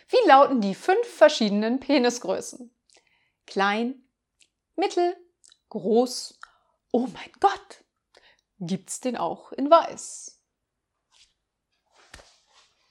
Wie lauten die 5 verschiedenen Penisgrößen? Klein, mittel, groß, oh mein Gott, gibt's den auch in weiß?